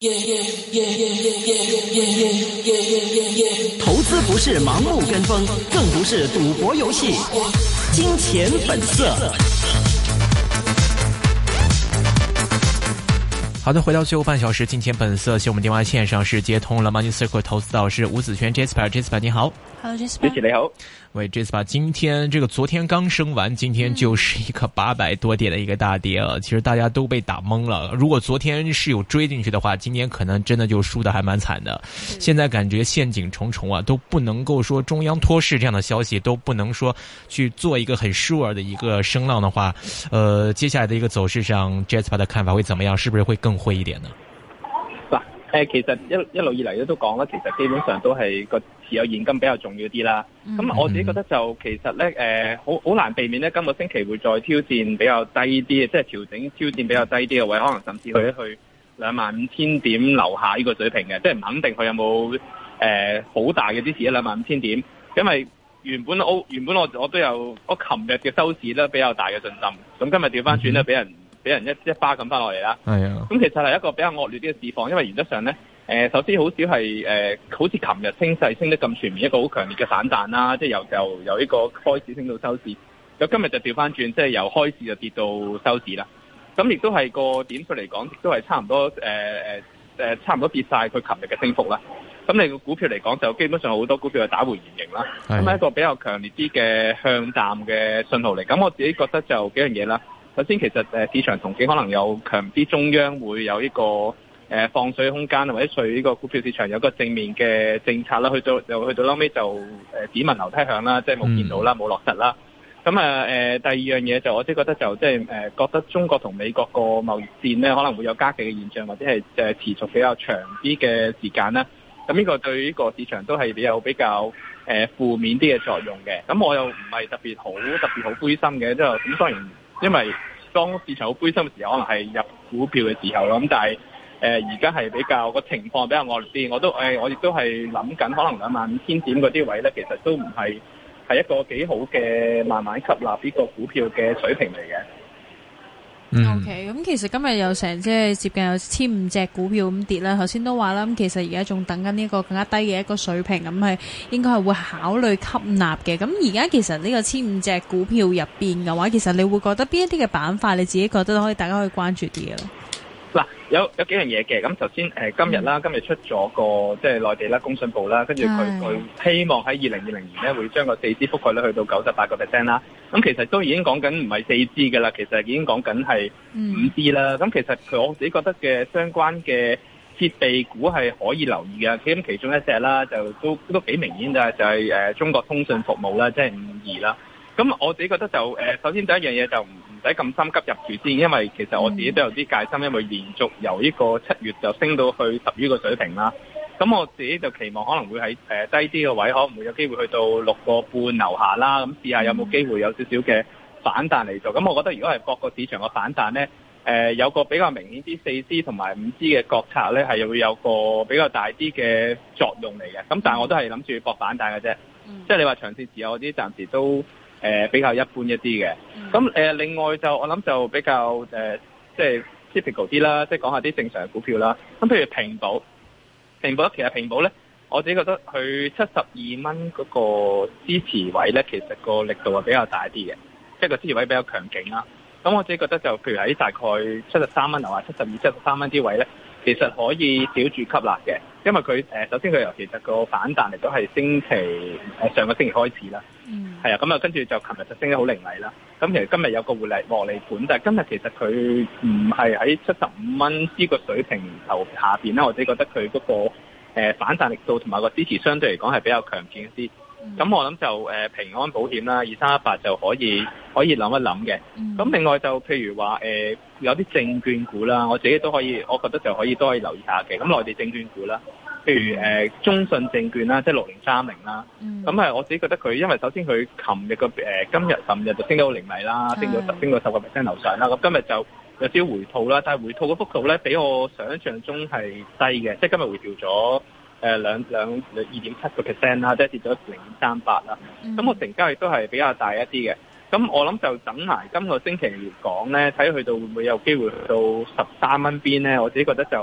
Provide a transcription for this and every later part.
投資不是盲目跟風，更不是賭博遊戲。金錢本色。 好的，回到最後半小時，金錢本色，我們電話線上是接通了 Money Circle 投資導師吳子軒 Jasper 你好。 Hello Jasper， 主持你好。 喂 Jasper， 今天昨天剛升完，今天就是一個800多點的一個大跌啊，其實大家都被打懵了。如果昨天是有追進去的話，今天可能真的就輸得還蠻慘的。現在感覺陷阱重重啊，都不能夠說中央托市這樣的消息，都不能說去做一個很 sure 的一個聲浪的話，接下來的一個走勢上 Jasper 的看法會怎麼樣？是不是會更灰一點呢？ 其實一路以嚟都講啦，其實基本上都係個持有現金比較重要啲啦。咁我自己覺得就其實咧，好難避免咧，今個星期會再挑戰比較低啲，即係調整挑戰比較低啲嘅位，可能甚至去25,000點樓下呢個水平嘅，即係唔肯定佢有冇好大嘅支持25,000點，因為原本我都有我琴日嘅收市咧比較大嘅信心，咁今日調翻轉咧俾人一巴咁翻落嚟啦。係啊，咁其實係一個比較惡劣啲嘅市況，因為原則上咧，首先好少係好似琴日升勢升得咁全面，一個好強烈嘅反彈啦，即係由呢個開市升到收市。咁今日就調翻轉，即係由開市就跌到收市啦。咁亦都係個點數嚟講，亦都係差唔多差唔多跌晒佢琴日嘅升幅啦。咁你個股票嚟講，就基本上好多股票係打回原形啦。咁係一個比較強烈啲嘅向淡嘅信號嚟。咁我自己覺得就幾樣嘢啦。首先，其實市場憧憬可能有強啲，中央會有呢個放水空間，或者對呢個股票市場有個正面嘅政策啦。去到後尾就只聞樓梯響啦，即係冇見到啦，冇落實啦。咁第二樣嘢就我即係覺得就即係覺得中國同美國個貿易戰咧可能會有加劇嘅現象，或者係持續比較長啲嘅時間啦。咁呢個對呢個市場都係有比較負面啲嘅作用嘅。咁我又唔係特別好灰心嘅，即係咁當然。因為當市場好灰心嘅時候，可能係入股票嘅時候咯。咁但係而家係比較個情況比較惡劣啲。我亦都係諗緊，可能25,000點嗰啲位咧，其實都唔係一個幾好嘅慢慢吸納呢個股票嘅水平嚟嘅。 OK， 咁其實今日有成即係接近有1,500隻股票咁跌啦。頭先都話啦，咁其實而家仲等緊呢個更加低嘅一個水平，咁係應該係會考慮吸納嘅。咁而家其實呢個1,500隻股票入邊嘅話，其實你會覺得邊一啲嘅板塊你自己覺得大家可以關注啲嘅咧？ 嗱，有幾樣嘢嘅。咁首先今日出咗個即係內地啦，工信部啦，跟住佢希望喺2020年咧會將個 4G 覆蓋率去到98%啦。咁其實都已經講緊唔係 4G 嘅啦，其實已經講緊係 5G 啦。咁其實我自己覺得嘅相關嘅設備股係可以留意嘅。咁其中一隻啦，就都幾明顯就係中國通訊服務啦，即係52啦。咁我自己覺得就首先第一樣嘢就唔使咁心急入住先，因為其實我自己都有啲戒心，因為連續由呢個7月就升到去10月個水平啦。咁我自己就期望可能會喺低啲嘅位，可能會有機會去到6個半樓下啦。咁試下有冇機會有少少嘅反彈嚟做。咁我覺得如果係各個市場嘅反彈咧，有個比較明顯啲 4G 同埋 5G 嘅國策咧，係會有個比較大啲嘅作用嚟嘅。咁但係我都係諗住搏反彈嘅啫。即係你話長線持有嗰啲暫時都比較一般一啲嘅。咁另外就我諗就比較即係 typical 啲啦，即係講下啲正常嘅股票啦。咁譬如平保其實平保咧，我自己覺得佢72蚊嗰個支持位咧，其實個力度係比較大啲嘅，即係個支持位比較強勁啦。咁我自己覺得就譬如喺大概73蚊或72、73蚊啲位咧，其實可以小注吸納嘅，因為佢首先佢由其實個反彈嚟都係上個星期開始啦。係啊，咁啊跟住就琴日就升得好凌厲啦。咁其實今日有個獲利盤，但係今日其實佢唔係喺75蚊呢個水平頭下邊啦。我自己覺得佢嗰個反彈力度同埋個支持相對嚟講係比較強勁一啲。咁我諗就平安保險啦，2318就可以諗一諗嘅。咁另外就譬如話有啲證券股啦，我自己都可以，我覺得就可以留意下嘅。咁內地證券股啦，譬如中信證券啦，即係6030啦。咁我自己覺得佢，因為首先佢琴日就升得好凌厲啦，升到10% 樓上啦。咁今日就有少少回吐啦，但係回吐嘅幅度咧比我想象中係低嘅，即係今日回調咗2.7% 啦，即係跌咗0.38啦。咁個成交亦都係比較大一啲嘅。咁我諗就等埋今個星期嚟講咧，睇去到會唔會有機會去到13蚊邊咧？我自己覺得就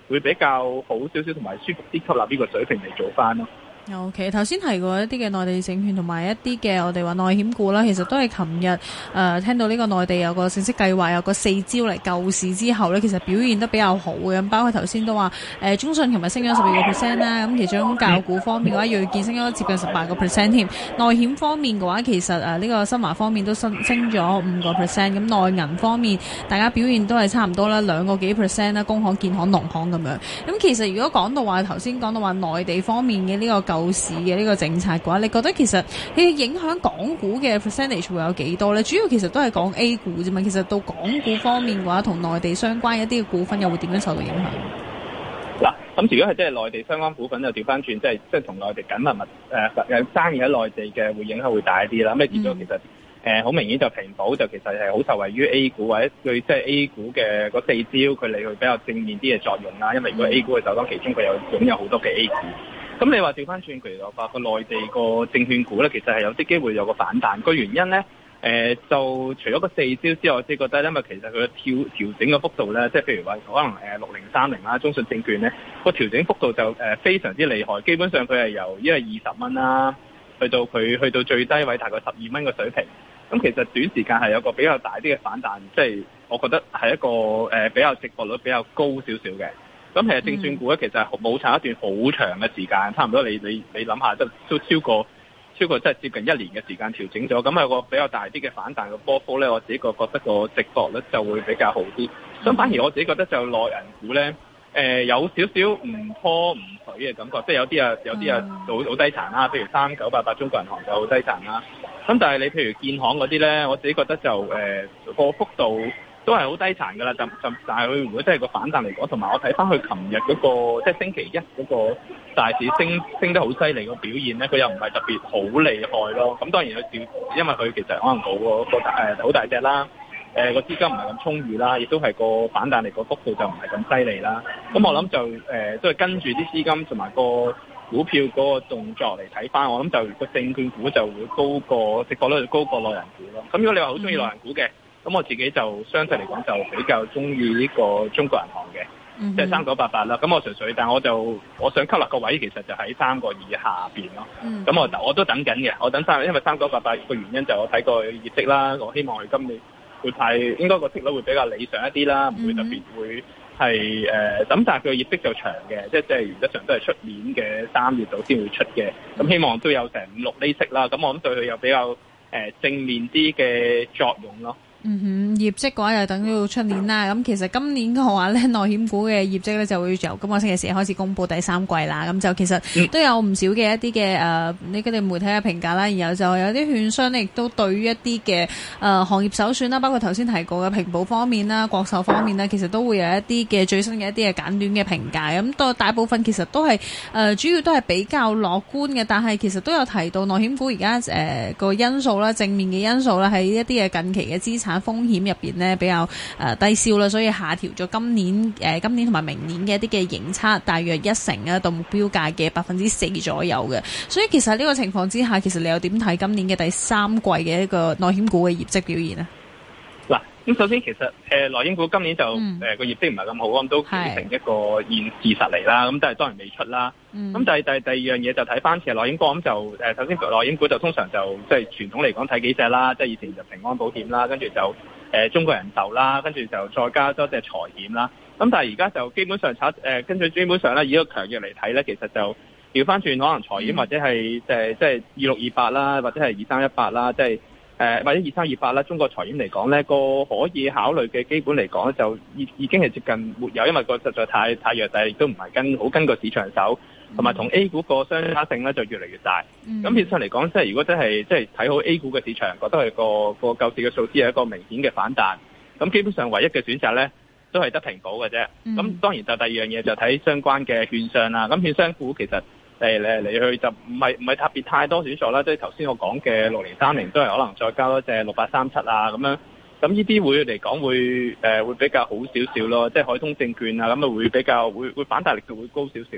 會比較好少少，同埋舒服啲吸納呢個水平嚟做翻咯。 OK， 頭先提過一啲嘅內地證券同埋一啲嘅我哋話內險股啦，其實都係琴日聽到呢個內地有個正式計劃，有個4招嚟救市之後呢，其實表現得比較好嘅。咁包括頭先都話中信琴日升咗12%啦，咁其中教育股方面嘅話，要見升咗接近18%添。內險方面嘅話，其實呢個新華方面都升咗5%，咁內銀方面大家表現都係差唔多啦，2個幾%啦，工行、建行、農行咁樣。咁其實如果講到話頭先講到話內地方面嘅呢個救市嘅呢個政策嘅話，你覺得其實佢影響港股嘅 percentage 會有幾多呢？主要其實都係講 A 股啫嘛。其實到港股方面嘅話，同內地相關一啲嘅股份又會點樣受到影響？ 嗱，咁如果係即係內地相關股份就調翻轉，即係同內地緊密生意喺內地嘅會影響會大一啲啦。咁你見到其實好明顯就平保就其實係好受惠於 A 股或者對即係 A 股嘅嗰4招佢嚟去比較正面啲嘅作用啦。因為如果 A 股嘅首當其衝，佢有擁有好多嘅 A 股。咁你話調翻轉，譬如話個內地個證券股咧，其實係有啲機會有個反彈。個原因咧，就除咗個4招之外，我自己覺得，因為其實佢嘅調整嘅幅度咧，即係譬如話可能6030啦，中信證券咧個調整幅度就非常之厲害。基本上佢係由20蚊啦，去到最低位大概12蚊嘅水平。咁其實短時間係有個比較大啲嘅反彈，即係我覺得係一個比較值博率比較高少少嘅。咁其實證券股咧，其實係冇炒一段好長嘅時間，差唔多你諗下，都超過即係接近1年嘅時間調整咗，咁有個比較大啲嘅反彈嘅波幅咧，我自己覺得個值博率就會比較好啲。咁反而我自己覺得就內銀股咧，有少少唔拖唔水嘅感覺，即係有啲啊好低殘啦，譬如3988中國銀行就好低殘啦。咁但係你譬如建行嗰啲咧，我自己覺得就個幅度都係好低殘㗎啦，但係佢如果真係個反彈嚟講，同埋我睇翻佢琴日嗰個即係星期一嗰個大市升得好犀利個表現咧，佢又唔係特別好厲害咯。咁當然佢因為佢其實可能好大隻啦，個資金唔係咁充裕啦，亦都係個反彈嚟個幅度就唔係咁犀利啦。咁我諗就都係跟住啲資金同埋個股票嗰個動作嚟睇翻，我諗就個證券股就會高過值博率就高過內銀股咯。咁如果你話好中意內銀股嘅，咁我自己就相對嚟講就比較中意呢個中國銀行嘅，即係3988啦。咁我純粹，但我想吸納個位其實就喺3個以下邊咯。咁我都等緊嘅，我等因為3988個原因就我睇過業績啦，我希望佢今年會應該個息率會比較理想一啲啦，唔會特別會係咁，但係佢個業績就長嘅，即係原則上都係出年嘅3月度先會出嘅。咁希望都有成5-6厘息啦。咁我諗對佢有比較正面啲嘅作用咯。 業績嘅話又等到出年啦。咁其實今年嘅話咧，內險股嘅業績咧就會由今個星期四開始公布第3季啦。咁就其實都有唔少嘅一啲嘅呢啲媒體嘅評價啦。然後就有啲券商咧亦都對於一啲嘅行業首選啦，包括頭先提過嘅平保方面啦、國壽方面啦，其實都會有一啲嘅最新嘅一啲嘅簡短嘅評價。咁到大部分其實都係主要都係比較樂觀嘅，但係其實都有提到內險股而家個因素啦、正面嘅因素啦，喺一啲嘅近期嘅資產風險入邊呢比較低消啦，所以下調咗今年同埋明年嘅一啲嘅盈測，大約1成啊，到目標價嘅4%左右嘅。所以其實呢個情況之下，其實你又點睇今年嘅第3季嘅一個內險股嘅業績表現呢？嗱， 咁首先其實內險股今年就個業績唔係咁好，咁都變成一個事實嚟啦。咁但係當然未出啦。咁第二樣嘢就睇翻其實內險股，咁就首先內險股就通常就即係傳統嚟講睇幾隻啦，即係以前就平安保險啦，跟住就中國人壽啦，跟住就再加多隻財險啦。咁但係而家就基本上跟住基本上咧以個強弱嚟睇咧，其實就調翻轉可能財險或者係即係2628啦，或者係2318啦，即係或者2328啦，中國財險嚟講咧，個可以考慮嘅基本嚟講咧，就已經係接近沒有，因為個實在太弱，但係亦都唔係跟個市場走，同埋同 A 股個相差性咧就越嚟越大。咁變相嚟講，即係如果真係即係睇好 A 股嘅市場，覺得係個救市嘅數字係一個明顯嘅反彈，咁基本上唯一嘅選擇咧都係得平保嘅啫。咁當然就第二樣嘢就睇相關嘅券商啦。咁券商股其實嚟去就唔係特別太多選擇啦，即係頭先我講嘅6030都係可能再加多隻6837啊咁樣，咁呢啲會嚟講會比較好少少咯，即係海通證券啊咁啊會比較會反彈力度會高少少咯。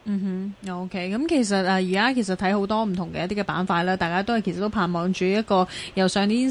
嗯哼 ，OK， 咁其實而家其實睇好多唔同嘅一啲嘅板塊啦，大家其實都盼望住一個由上年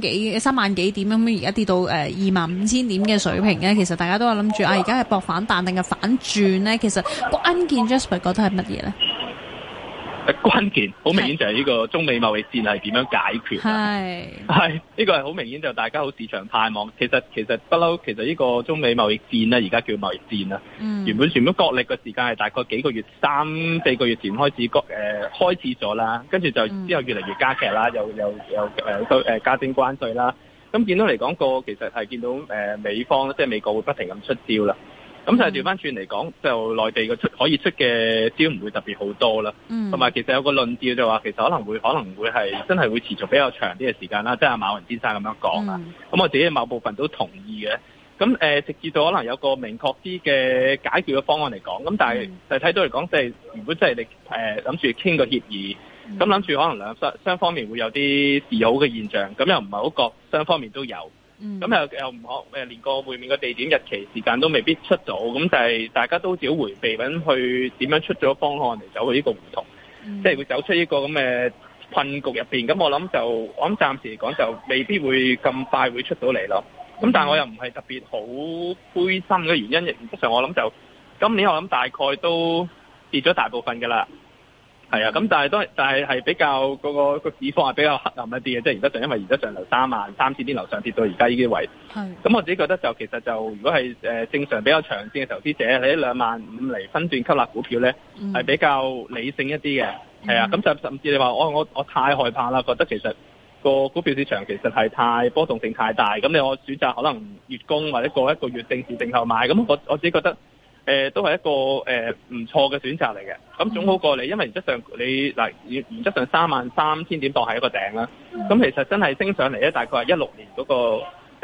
3萬幾點咁，而家跌到25,000點嘅水平咧，其實大家都有諗住而家係搏反彈定係反轉咧？其實關鍵 Jasper 覺得係乜嘢咧？ 關鍵好明顯就係呢個中美貿易戰係點樣解決？係呢個係好明顯就大家好市場盼望。其實不嬲，其實呢個中美貿易戰咧，而家叫貿易戰啦。原本角力嘅時間係大概幾個月3-4個月前開始咗啦，跟住就之後越嚟越加劇啦，又加徵關稅啦。咁見到嚟講其實係見到美方即係美國會不停咁出招啦。咁就係調翻轉嚟講，就內地可以出嘅招唔會特別好多啦。同埋其實有個論調就話，其實可能會係真係會持續比較長啲嘅時間啦。即係阿馬雲先生咁樣講啦。咁我自己某部分都同意嘅。咁直至到可能有個明確啲嘅解決嘅方案嚟講。咁但係就睇到嚟講，即係如果真係你諗住傾個協議，咁諗住可能雙方面會有啲示好嘅現象，咁又唔係好覺雙方面都有。咁又唔可連個會面嘅地點、日期、時間都未必出到，咁就係大家都只好迴避緊去點樣出咗方案嚟走去呢個胡同，即係會走出呢個咁嘅困局入邊。咁我諗暫時嚟講就未必會咁快會出到嚟咯。咁但係我又唔係特別好灰心嘅原因，原則上我諗就今年我諗大概都跌咗大部分㗎啦。係啊，咁但係比較個市況係比較黑暗一啲嘅，即係原則上因為原則上由33000點樓上跌到而家呢啲位。咁我自己覺得就其實就如果係正常比較長線嘅投資者，喺25000嚟分段吸納股票咧，係比較理性一啲嘅。係啊，咁就甚至你話我太害怕啦，覺得其實個股票市場其實係太波動性太大，咁我選擇可能月供或者過一個月定時定候買，咁我自己覺得。都係一個唔錯嘅選擇嚟嘅，咁總好過你，因為原則上原則上33000點當係一個頂啦。咁其實真係升上嚟咧，大概係16年嗰個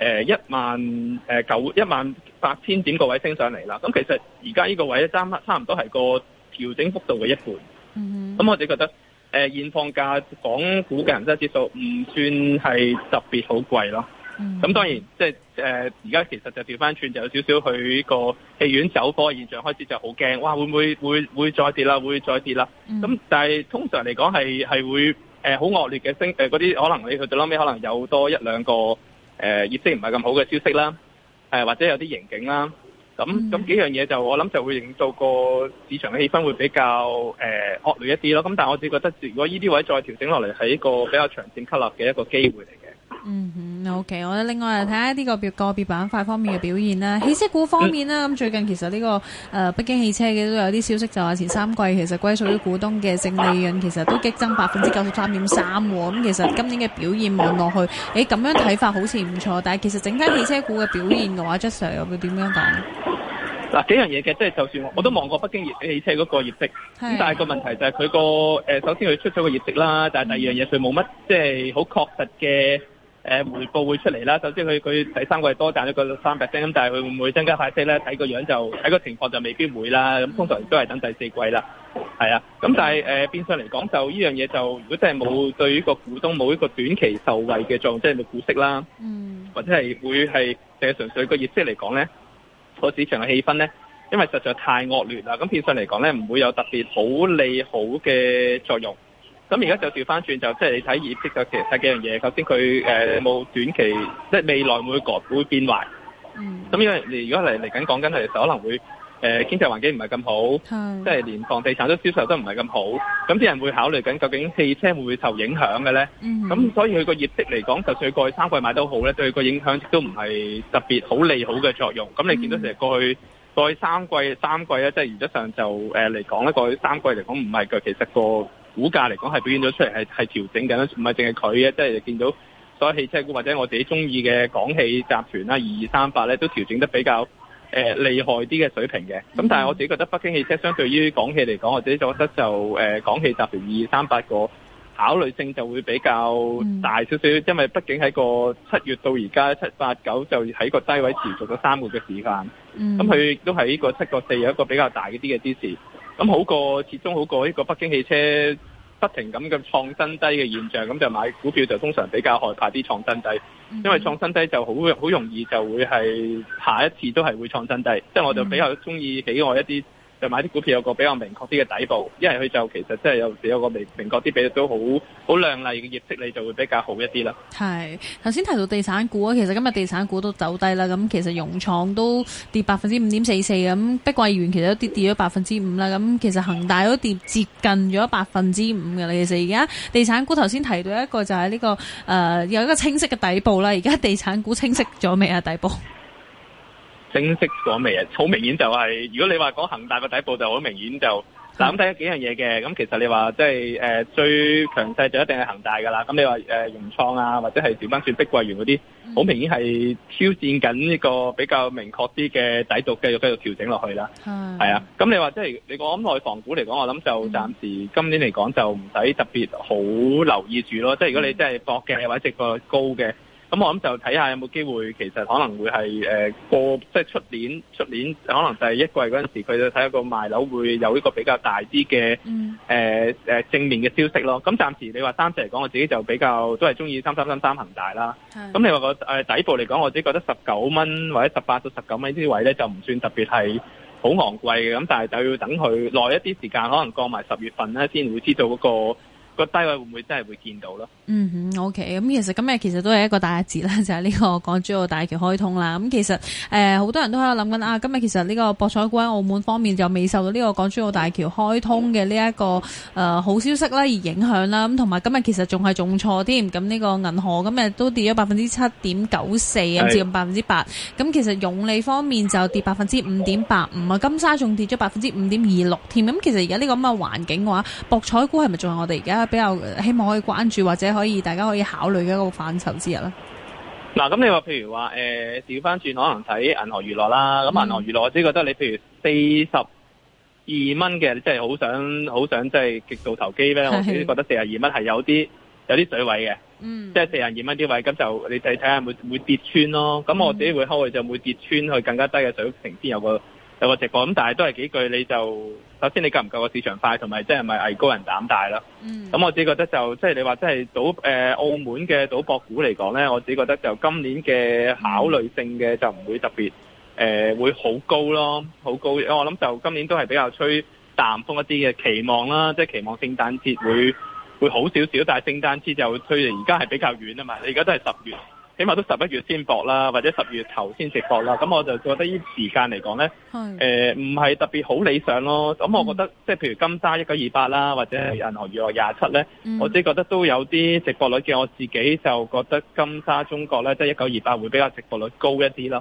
18000點個位升上嚟啦。咁其實而家呢個位咧差唔多係個調整幅度嘅一半。咁我自己覺得現況價港股嘅恒生指數唔算係特別好貴咯。咁當然即係而家其實就調翻轉，就有少少佢個戲院走火嘅現象開始就好驚，哇會唔會再跌啦？會再跌啦？咁但係通常嚟講係會好惡劣嘅升嗰啲，可能你去到後尾可能有多一兩個業績唔係咁好嘅消息啦，或者有啲盈警啦。咁幾樣嘢就我諗就會令到個市場嘅氣氛會比較惡劣一啲咯。咁但係我自己覺得，如果呢啲位再調整落嚟，係一個比較長線吸納嘅一個機會嚟嘅。 OK， 我哋另外嚟睇下呢個個別板塊方面嘅表現啦。汽車股方面啦，咁最近其實呢個北京汽車嘅都有啲消息，就話前3季其實歸屬於股東嘅淨利潤其實都激增93.3%。咁其實今年嘅表現望落去，咁樣睇法好似唔錯，但係其實整體汽車股嘅表現嘅話，Jasper又會點樣講？ 嗱，幾樣嘢嘅，即係就算我都望過北京汽車嗰個業績，咁但係個問題就係佢個首先佢出咗個業績啦，但係第二樣嘢佢冇乜即係好確實嘅回報會出嚟啦。首先佢第3季多賺咗個3%，咁但係佢會唔會增加派息咧？睇個樣就睇個情況就未必會啦。咁通常都係等第4季啦。係啊，咁但係變相嚟講就呢樣嘢就如果真係冇對於個股東冇一個短期受惠嘅作用，即係冇股息啦，或者係會係淨係純粹個業績嚟講咧，個市場嘅氣氛咧，因為實在太惡劣啦，咁變相嚟講咧，唔會有特別好利好嘅作用。咁而家就調翻轉，就即係你睇業績就其實睇幾樣嘢。首先佢冇短期，即係未來會變壞。咁因為你如果嚟緊講緊係可能會經濟環境唔係咁好，即係連房地產都銷售都唔係咁好，咁啲人會考慮緊究竟汽車會唔會受影響嘅咧？咁所以佢個業績嚟講，就算佢過去3季賣得好咧，對佢個影響亦都唔係特別好利好嘅作用。咁你見到成日過去3季咧，即係原則上就嚟講咧，過去3季嚟講唔係嘅，其實個股價嚟講係表現咗出嚟係調整緊，唔係淨係佢嘅，即係見到所有汽車股或者我自己中意嘅廣汽集團啦2238咧，都調整得比較厲害啲嘅水平嘅。咁但係我自己覺得北京汽車相對於廣汽嚟講，我自己覺得就廣汽集團2238個考慮性就會比較大少少，因為畢竟喺個7月到而家7、8、9就喺個低位持續咗3個嘅時間，咁佢亦都喺呢個7個4有一個比較大啲嘅支持。咁始終好過呢個北京汽車不停咁創新低嘅現象，咁就買股票就通常比較害怕啲創新低，因為創新低就好容易就會係下一次都係會創新低。即係我就比較中意喜愛一啲就買啲股票有個比較明確啲嘅底部，一係佢就其實即係有個明確啲，俾都好亮麗嘅業績，你就會比較好一啲啦。 係頭先提到地產股啊，其實今日地產股都走低啦，咁其實融創都跌5.44%，咁碧桂園其實都跌咗5%啦，咁其實恒大都跌接近咗5%嘅啦。其實而家地產股頭先提到一個就係呢個有一個清晰嘅底部啦，而家地產股清晰咗未啊？底部清晰咗未啊？好明顯就係，如果你話講恒大個底部就好明顯就，嗱咁睇咗幾樣嘢嘅，咁其實你話即係最強勢就一定係恒大㗎啦。咁你話融創啊，或者係調翻轉碧桂園嗰啲，好明顯係挑戰緊呢個比較明確啲嘅底度，繼續調整落去啦。係啊，咁你話即係你講內房股嚟講，我諗就暫時今年嚟講就唔使特別好留意住咯。即係如果你真係搏嘅或者值博率高嘅。咁我諗就睇下有冇機會，其實可能會係即係出年可能第一季嗰陣時，佢就睇下個賣樓會有一個比較大啲嘅正面嘅消息咯。咁暫時你話三隻嚟講，我自己就比較都係中意3333恒大啦。咁你話個底部嚟講，我自己覺得19蚊或者18到19蚊呢啲位咧，就唔算特別係好昂貴嘅。咁但係就要等佢耐一啲時間，可能過埋10月份咧，先會知道嗰個低位會唔會真係會見到咯？ 嗯哼 ，OK。咁其實今日其實都係一個大日子啦，就係呢個港珠澳大橋開通啦。咁其實好多人都喺度諗緊啊，今日其實呢個博彩股喺澳門方面就未受到呢個港珠澳大橋開通嘅呢一個好消息啦而影響啦。咁同埋今日其實仲係重挫添。咁呢個銀河今日都跌咗7.94%，咁至8%。咁其實永利方面就跌5.85%啊，金沙仲跌咗5.26%添。咁其實而家呢個咁嘅環境嘅話，博彩股係咪仲係我哋而家比較希望可以關注或者大家可以考慮嘅一個範疇之一啦？ 嗱，咁你話譬如話調翻轉，可能睇銀河娛樂啦。咁銀河娛樂，我自己覺得你譬如42蚊嘅，即係好想即係極度投機咧。我自己覺得42蚊係有啲水位嘅，即係42蚊啲位，咁就你睇下會跌穿咯。咁我自己會考慮就會跌穿去更加低嘅水平先有個直播。咁但係都係幾句，你就首先你夠唔夠個市場快，同埋即係咪藝高人膽大啦。咁我自己覺得就即係你話即係澳門嘅賭博股嚟講咧，我自己覺得就今年嘅考慮性嘅就唔會特別會好高咯，好高。我諗就今年都係比較吹淡風一啲嘅期望啦，即係期望聖誕節會好少少，但係聖誕節就推嚟而家係比較遠啊嘛，你而家都係10月。起碼都11月先博啦，或者10月頭先直博啦。咁我就覺得呢啲時間嚟講咧，唔係特別好理想咯。咁我覺得即係譬如金沙1928啦，或者係銀河娛樂27咧，我自己覺得都有啲直博率嘅。我自己就覺得金沙中國咧，即係1928會比較直博率高一啲咯。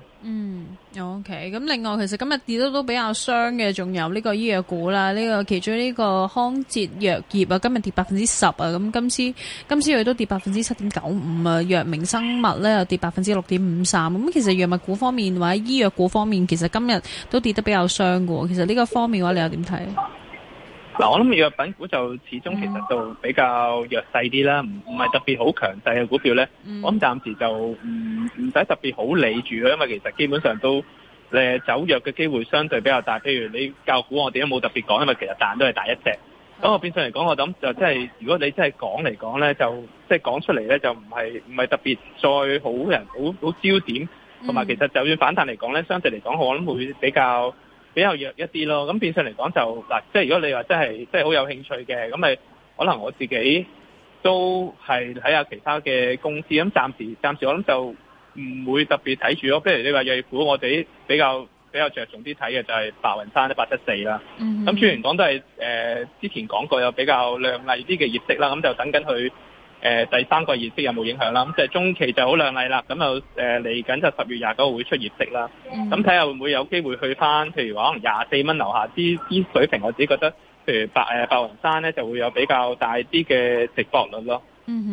OK。咁另外其實今日跌都比較傷嘅，仲有呢個醫藥股啦。呢個其中呢個康哲藥業啊，今日跌10%啊。咁今次佢都跌7.95%啊。藥明生物咧又跌6.53%。咁其實藥物股方面或者醫藥股方面，其實今日都跌得比較傷嘅。其實呢個方面嘅話，你又點睇？ 嗱，我諗藥品股就始終其實就比較弱勢啲啦，唔係特別好強勢嘅股票咧。我諗暫時就唔使特別好理住咯，因為其實基本上都走弱嘅機會相對比較大。譬如你教股，我哋都冇特別講，因為其實彈都係大一隻。咁我變相嚟講，我諗就即係如果你真係講嚟講咧，就即係講出嚟咧，就唔係特別再好焦點，同埋其實就算反彈嚟講咧，相對嚟講，我諗會比較弱一啲咯。咁變相嚟講就嗱，即係如果你話真係好有興趣嘅，咁咪可能我自己都係睇下其他嘅公司。咁暫時我諗就唔會特別睇住咯。譬如你話藥業股，我哋比較着重啲睇嘅就係白雲山1874啦。咁雖然講都係之前講過有比較亮麗啲嘅業績啦，咁就等緊佢第三個業績有冇影響啦。咁就係中期就好亮麗啦，咁就嚟緊就10月29號會出業績啦。咁睇下會唔會有機會去翻，譬如話可能24蚊樓下啲水平，我自己覺得譬如白雲山咧就會有比較大啲嘅值博率咯。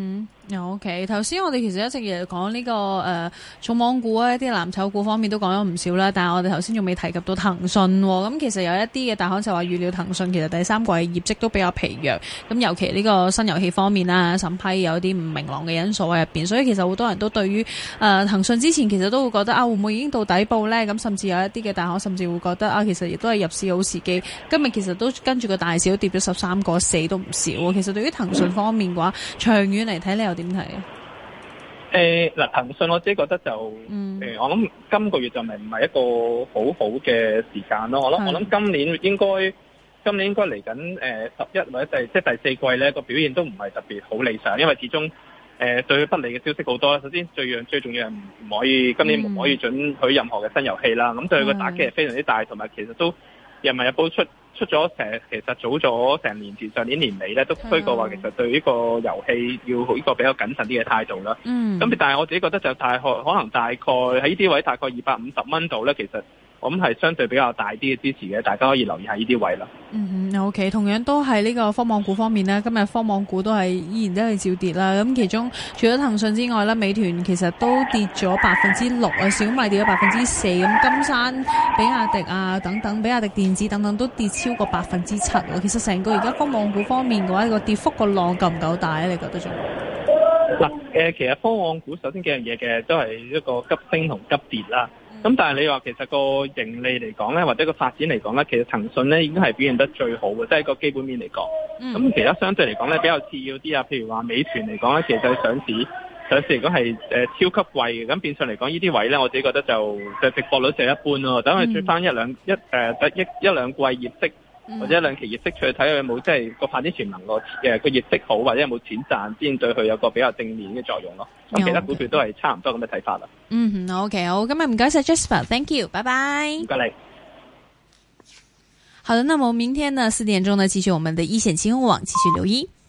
OK。頭先我哋其實一直亦講呢個重磅股啊，一啲藍籌股方面都講咗唔少啦。但係我哋頭先仲未提及到騰訊喎。咁其實有一啲嘅大行就話預料騰訊其實第三季業績都比較疲弱。咁尤其呢個新遊戲方面啦，審批有啲唔明朗嘅因素喺入邊，所以其實好多人都對於騰訊之前其實都會覺得會唔會已經到底部呢？咁甚至有一啲嘅大行甚至會覺得其實亦都係入市好時機。今日其實都跟住個大市都跌咗13.4%都唔少。其實對於騰訊方面嘅話，長遠嚟睇你又點睇啊？ 嗱，騰訊我自己覺得就我諗今個月就唔係一個好好嘅時間咯。我諗今年應該嚟緊11或者即係第四季咧個表現都唔係特別好理想，因為始終對佢不利嘅消息好多。首先最重要係唔可以今年唔可以准許任何嘅新遊戲啦。咁對佢個打擊係非常之大，同埋其實都人民日報出咗其實早咗成年前，上年年尾咧都推過話，其實對呢個遊戲要呢個比較謹慎啲嘅態度啦。咁但係我自己覺得就可能大概喺呢啲位大概250蚊度咧，其實我諗係相對比較大啲嘅支持嘅，大家可以留意下呢啲位啦。 OK， 同樣都係呢個科網股方面咧，今日科網股依然都係照跌啦。咁其中除咗騰訊之外咧，美團其實都跌咗6%啊，小米跌咗4%，咁金山、比亞迪啊等等，比亞迪電子等等都跌超過7%。其實成個而家科網股方面嘅話，個跌幅個浪夠唔夠大咧？你覺得仲？ 嗱，其實科網股首先幾樣嘢嘅都係一個急升同急跌啦。咁但係你話其實個盈利嚟講咧，或者個發展嚟講咧，其實騰訊咧已經係表現得最好嘅，即係個基本面嚟講。咁其他相對嚟講咧比較次要啲啊，譬如話美團嚟講咧，其實佢上市嚟講係超級貴嘅，咁變相嚟講呢啲位咧，我自己覺得就值博率就一般咯。等佢出翻一兩季業績。或者兩期業績出去睇下有冇即係個發展潛能個業績好，或者有冇錢賺先對佢有個比較正面嘅作用咯。咁其他股票都係差唔多咁嘅睇法啦。 OK， 好，今日唔該晒 Jasper，Thank you，拜拜。 唔該你。 好的，那麼明天呢4點鐘呢，繼續我們的一線金融網繼續留意。